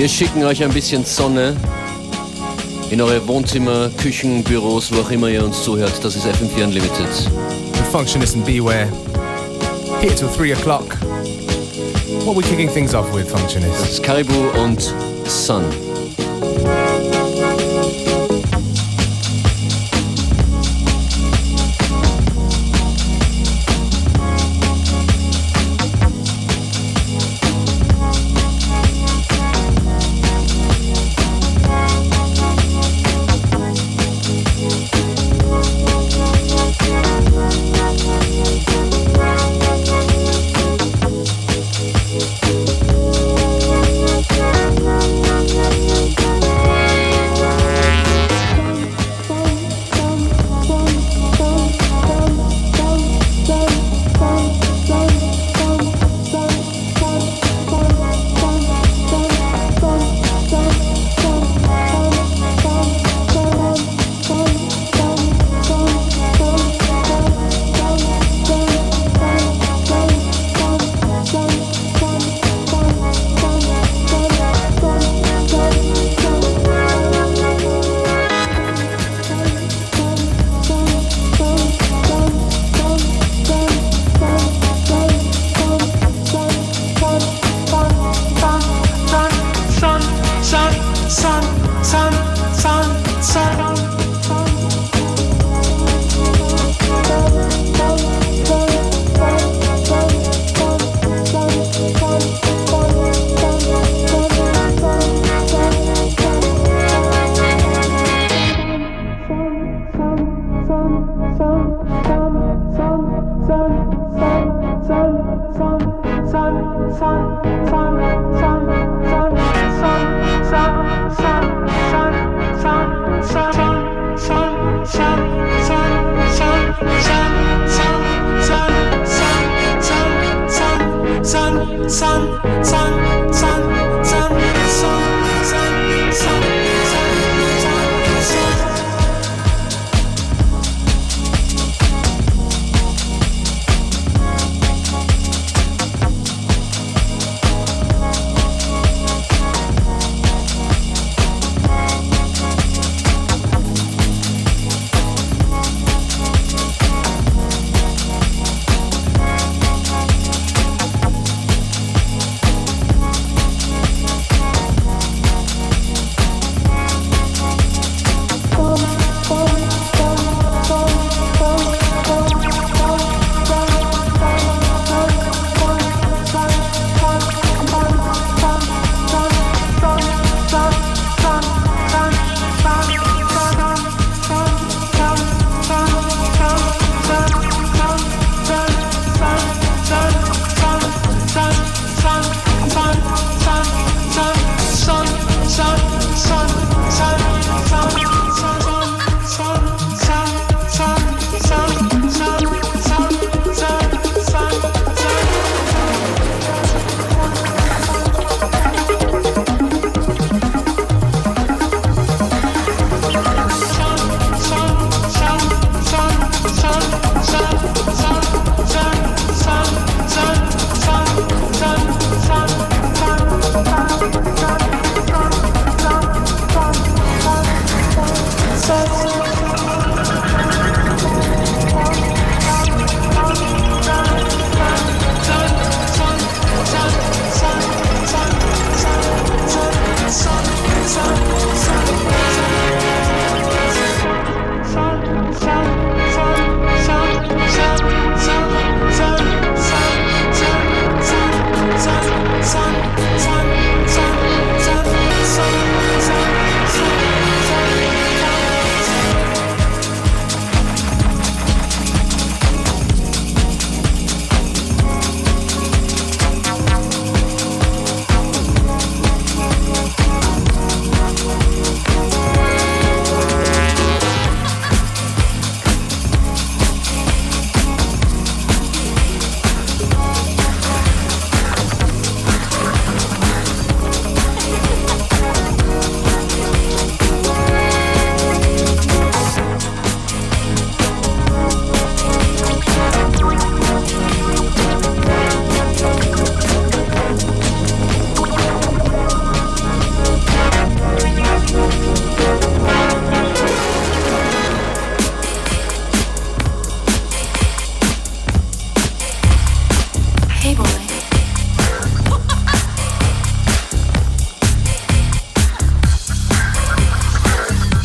Wir schicken euch ein bisschen Sonne in eure Wohnzimmer, Küchen, Büros, wo auch immer ihr uns zuhört. Das ist FM4 Unlimited. The Functionist and Beware. Here till 3 o'clock. What are we kicking things off with, Functionist? Das ist Caribou und Sun.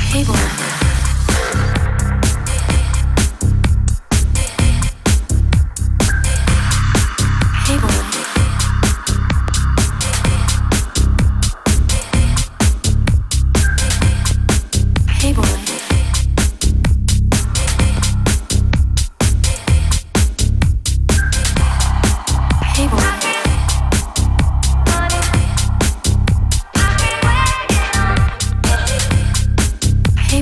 Hey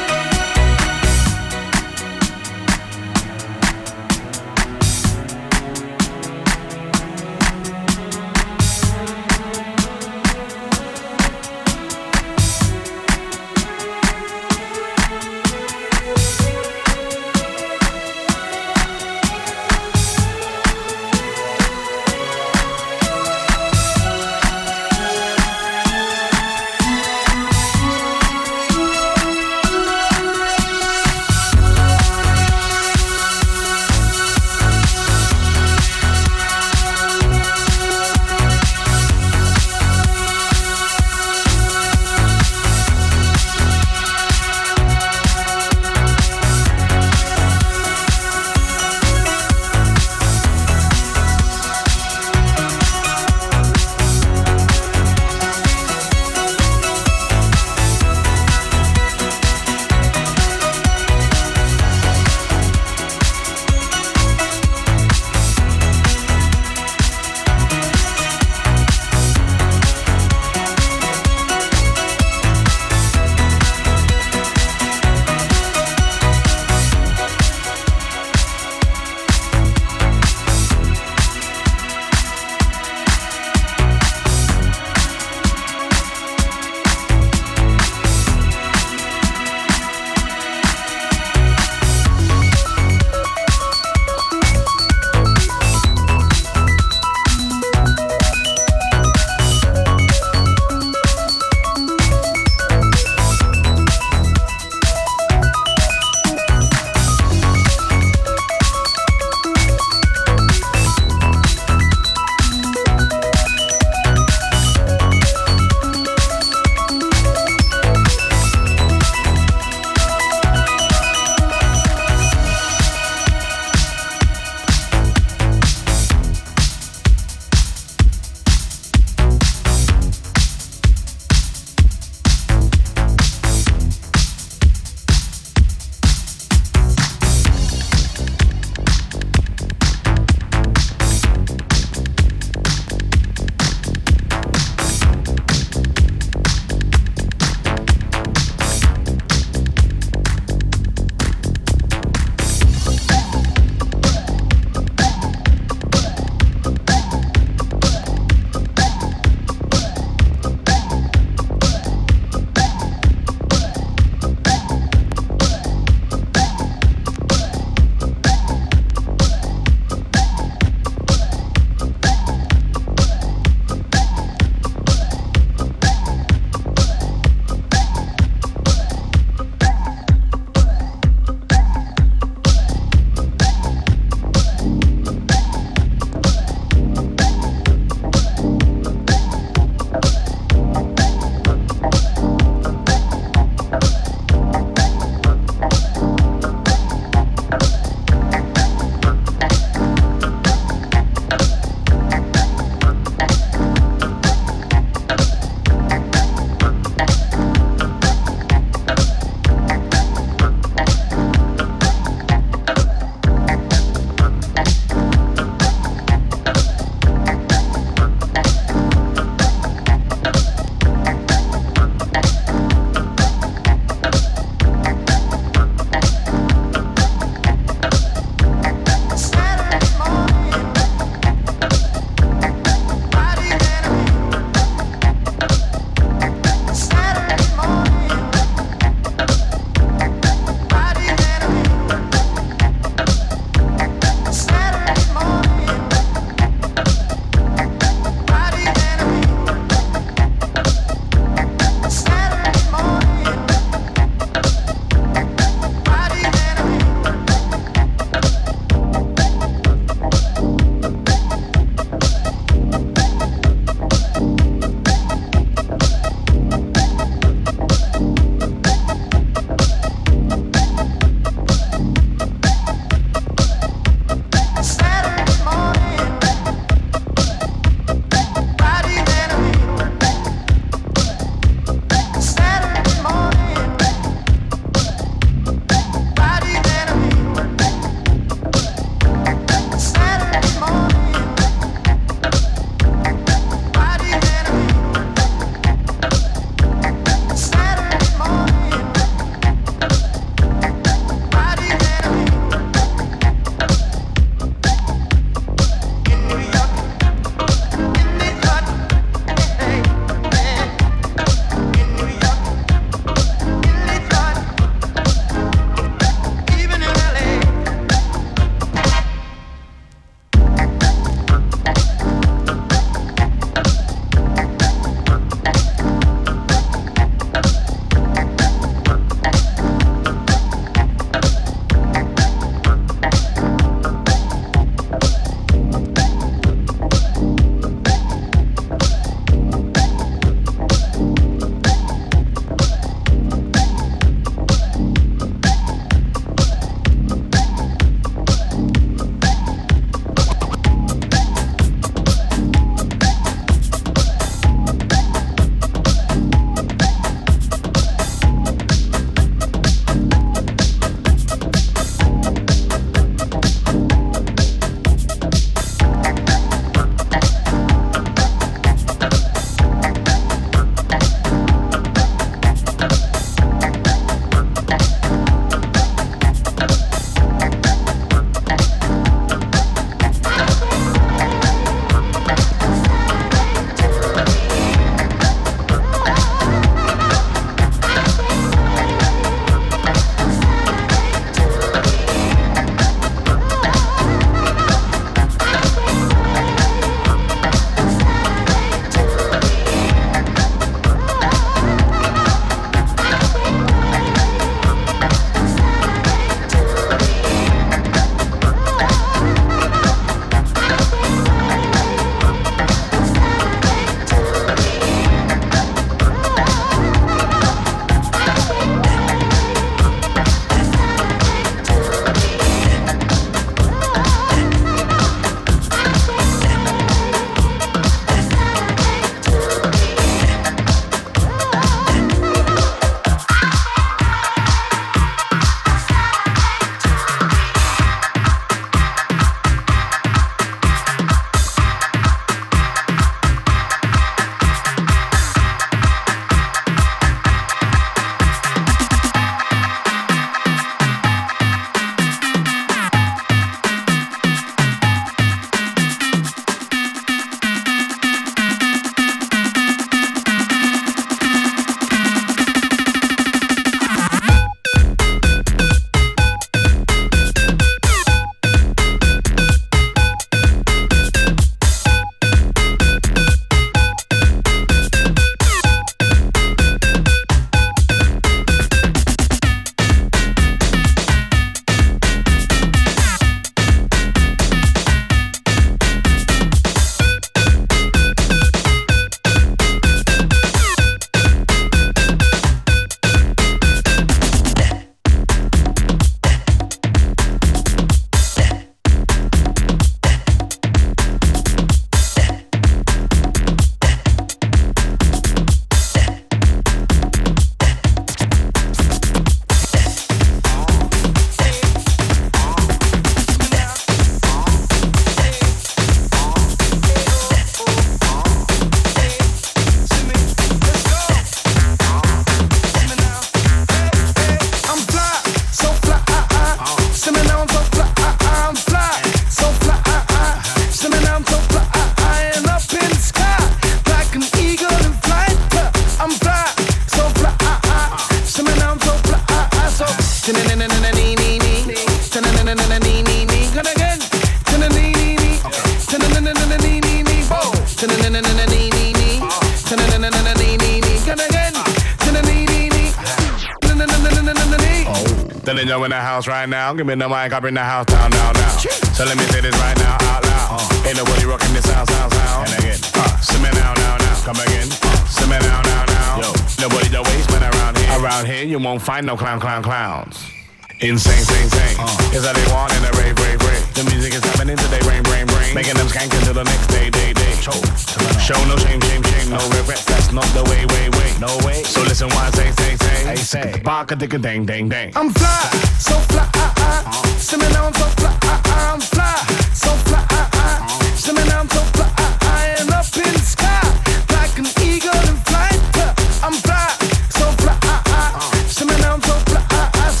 Then you're in the house right now. Give me the mic, I bring the house down, now. So let me say this right now, out loud. Ain't nobody rocking this sound. And again, see me now. Come again, see me now. Yo, nobody the waste man around here. Around here, you won't find no clowns. Insane. Is that they want in a rave. The music is happening today, brain. Making them skank until the next day. Show no shame, no regrets. That's not the way. No way. So listen what I say. Bark a dick a dang. I'm fly, so fly. See me now, I'm so fly. I'm fly, so fly. See me now, I'm so fly. And up in the sky, like an eagle in flight. I'm fly, so fly. See me now, I'm so fly. So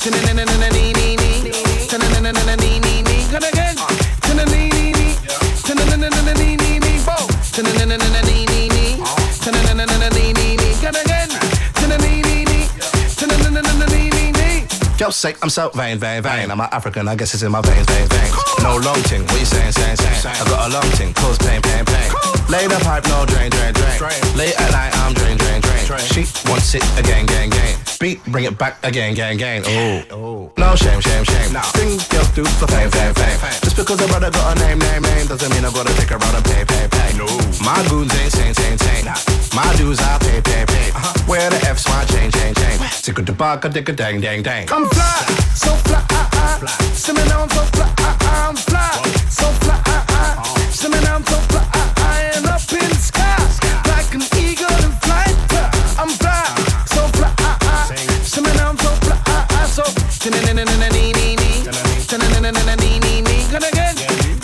gonna again. Yo, say I'm so vain. I'm an African, I guess it's in my veins. No long ting, what you saying? I got a long ting, cause pain. Lay the pipe, no drain. Late at night, I'm drain. She wants it again. Beat, bring it back again. Oh, no shame. Things girls do for fame. Just because a brother got a name doesn't mean I gotta take her out and pay. No, my goons ain't sane. My dues I pay. Where the F's my chain. Tick the bark, a dick a dang. I'm fly, so fly. See me now, I'm so fly. I'm fly, so fly. See me now, I'm so fly. And up in the sky, like an eagle in flight. I'm fly, so fly. See me now, I'm so fly. So gonna again.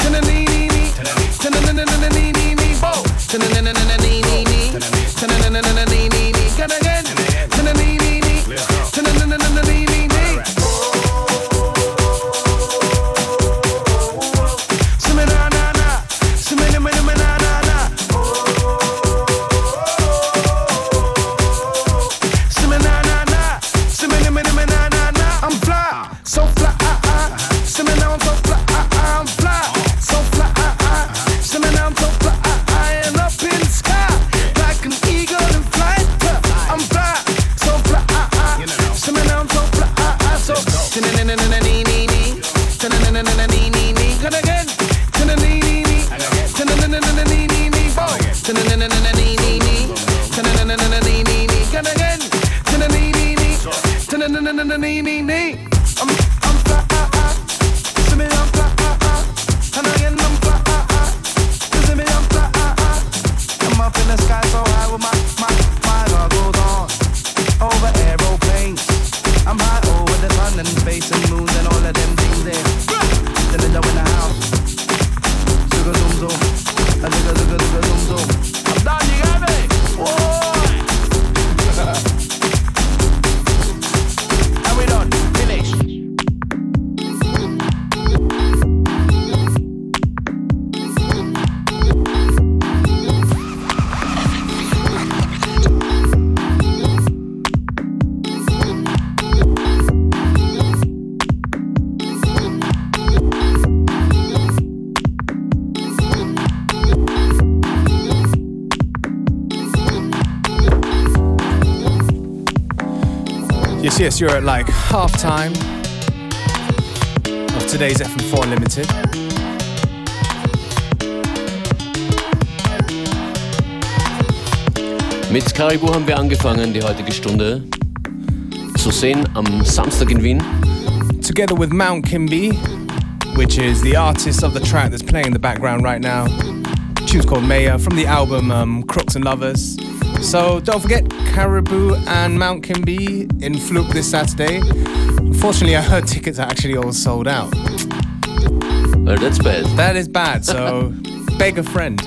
Yes, you're at like half time of today's FM4 Unlimited. Mit Caribou haben wir angefangen, die heutige Stunde. Zu sehen am Samstag in Wien. Together with Mount Kimby, which is the artist of the track that's playing in the background right now. The tune's called Maya from the album Crooks and Lovers. So don't forget Caribou and Mount Kimby in Fluke this Saturday. Unfortunately, I heard tickets are actually all sold out. Well, that's bad. That is bad, so beg a friend.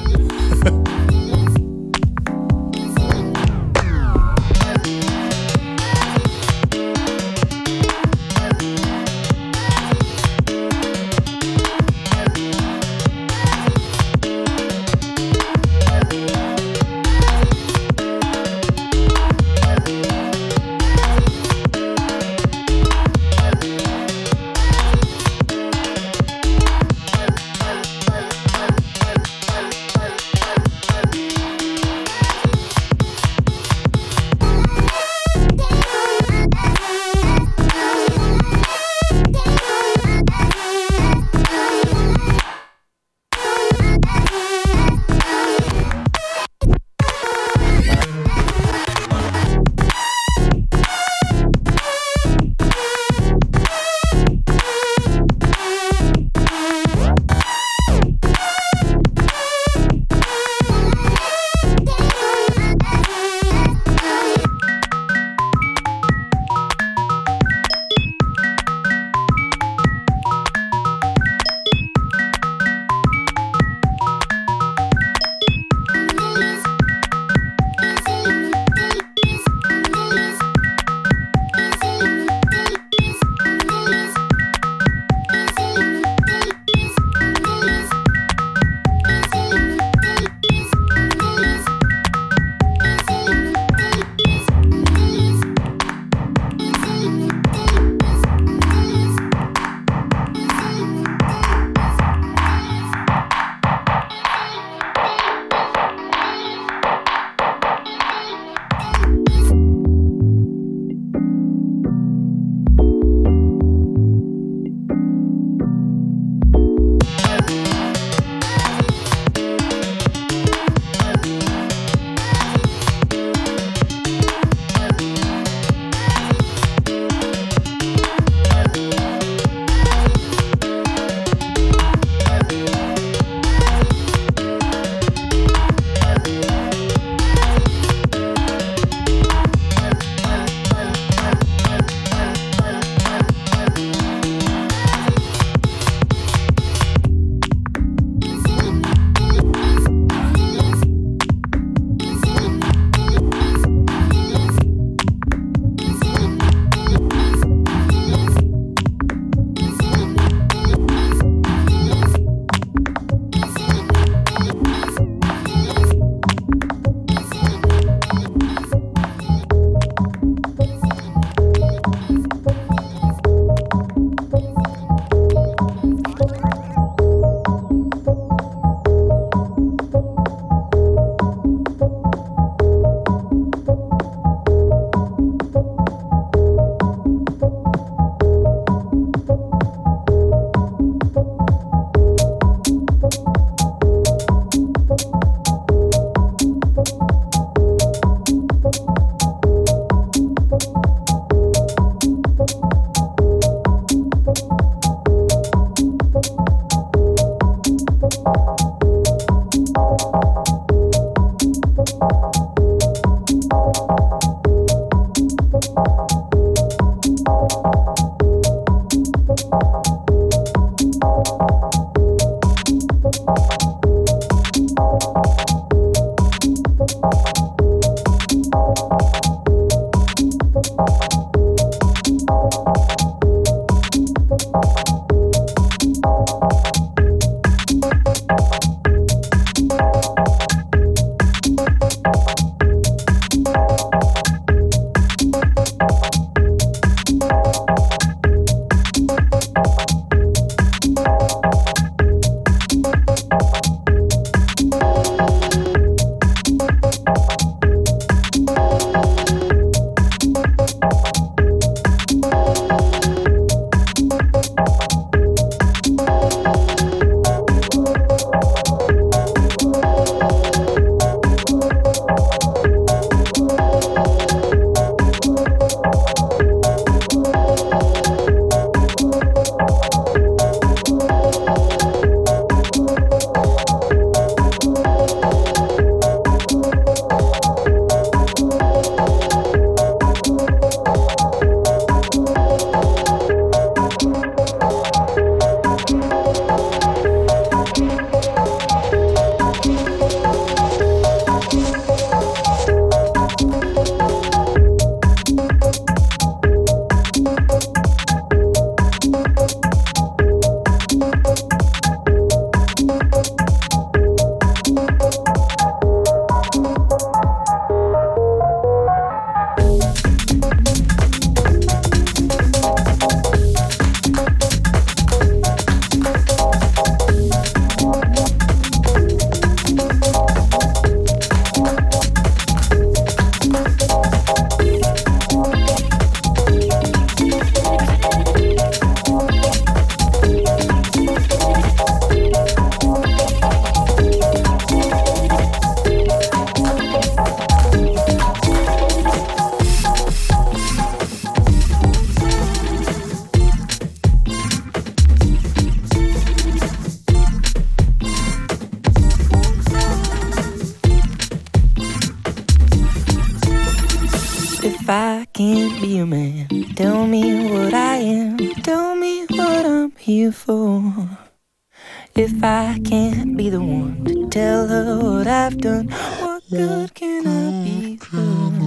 If I can't be a man, tell me what I am. Tell me what I'm here for. If I can't be the one to tell her what I've done, what good can I be for?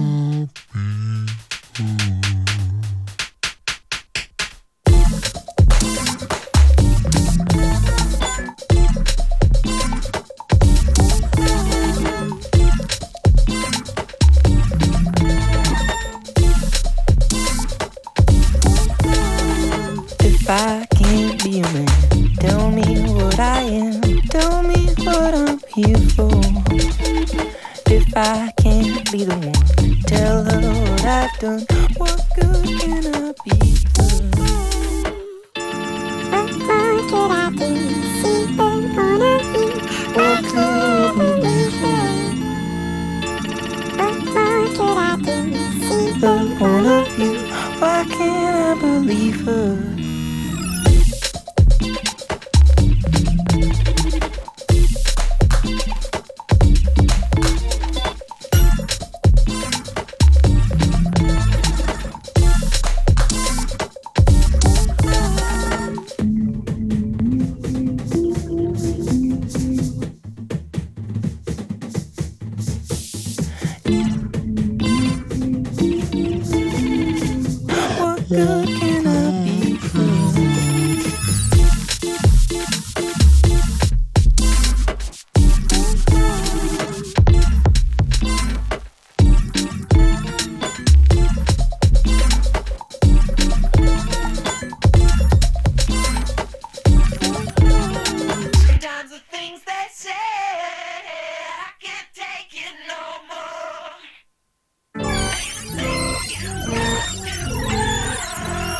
If I can't be a man, tell me what I am. Tell me what I'm here for. If I can't be the one to tell her what I've done, what good can I be for? What more could I do? See them on a view. What could I be for? What more could I do? See them on a view. Why can't I believe her? Good can I be for? Sometimes the things they say, I can't take it no more.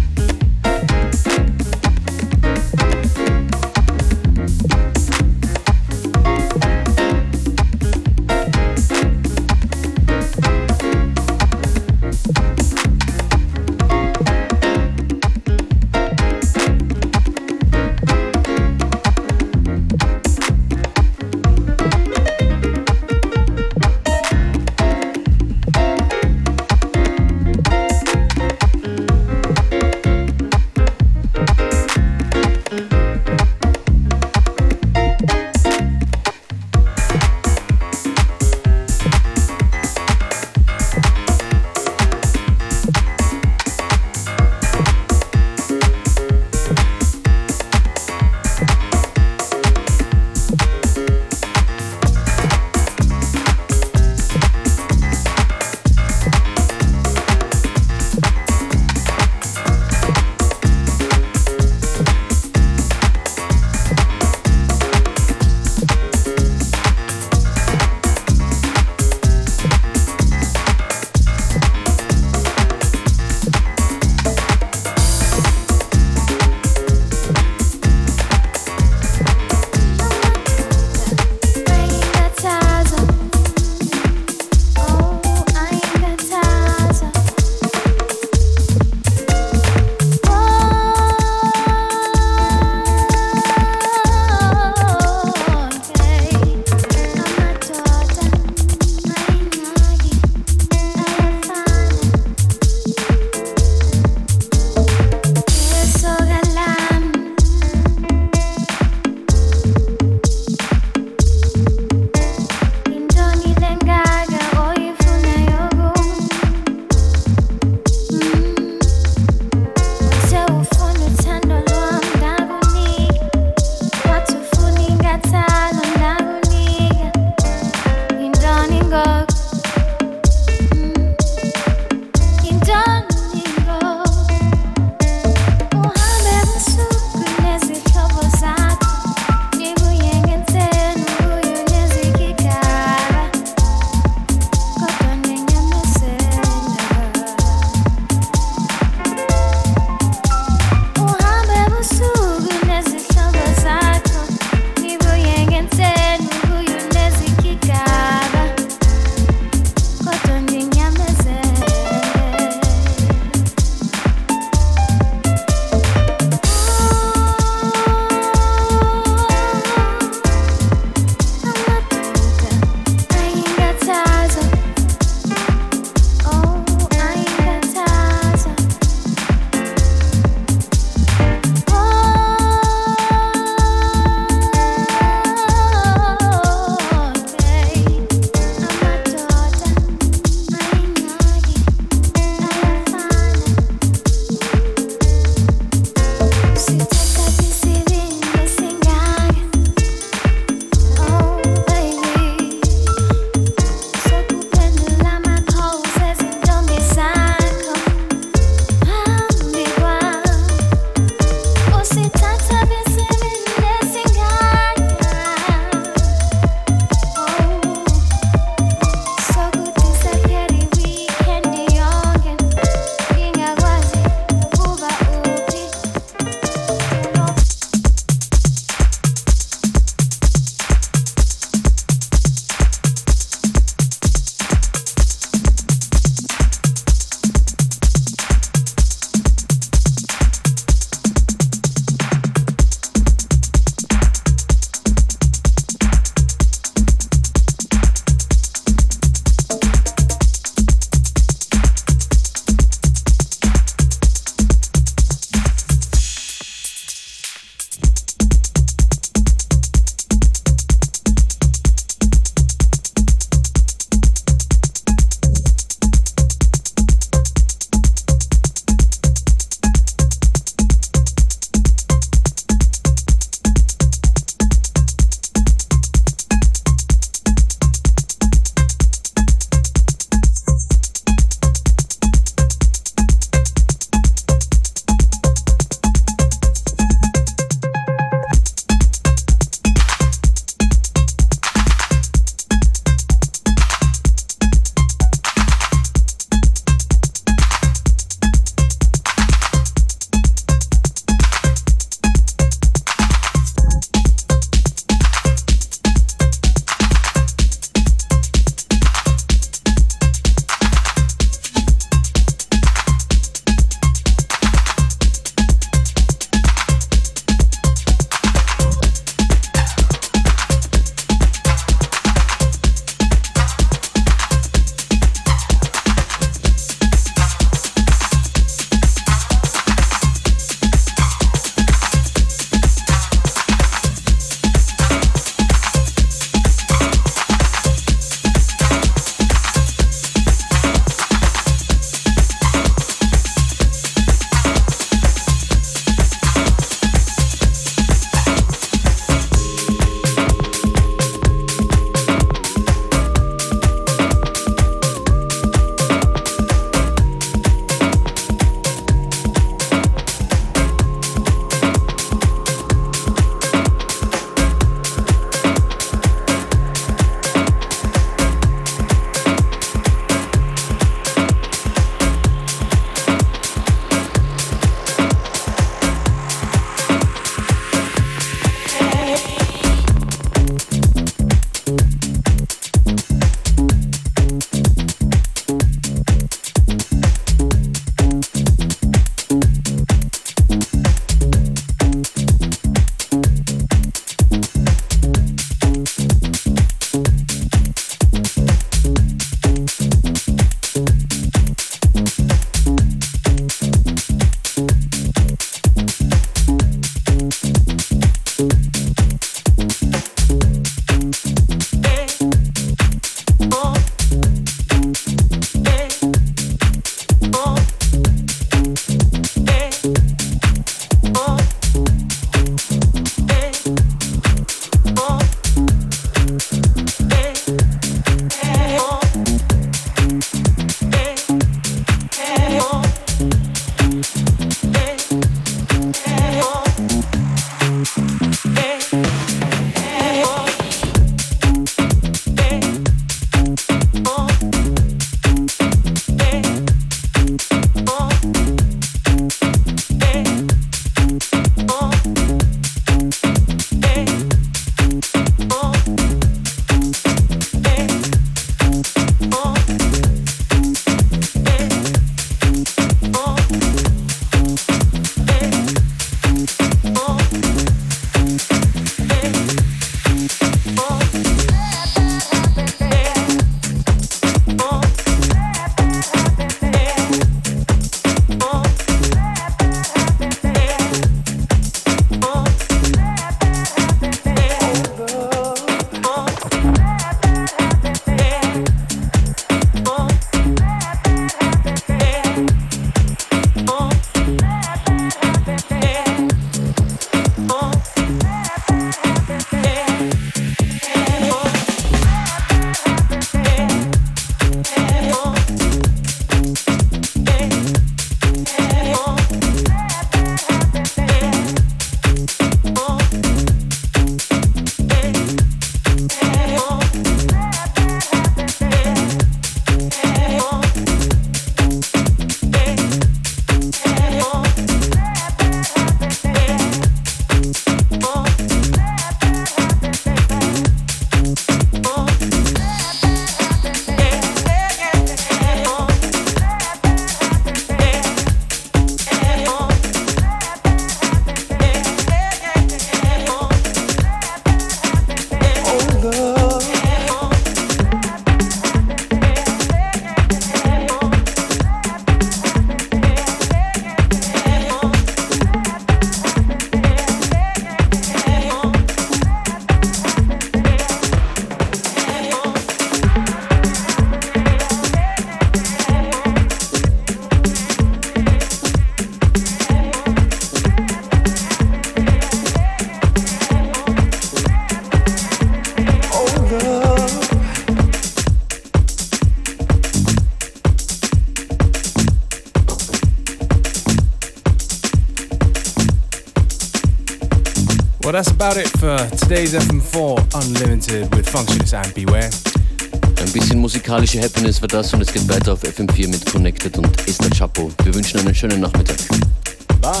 Well, that's about it for today's FM4 Unlimited with Functionist and Beware. Ein bisschen musikalische Happiness war das und es geht weiter auf FM4 mit Connected und Esther Chapo. Wir wünschen einen schönen Nachmittag. Bye.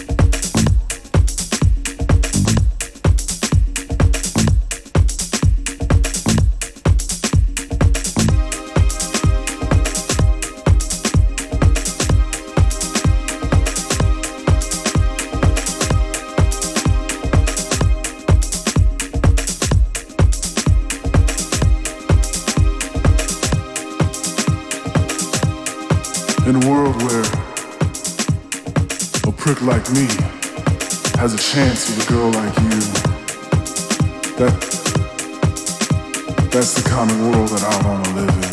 In a world where a prick like me has a chance with a girl like you, that's the kind of world that I want to live in.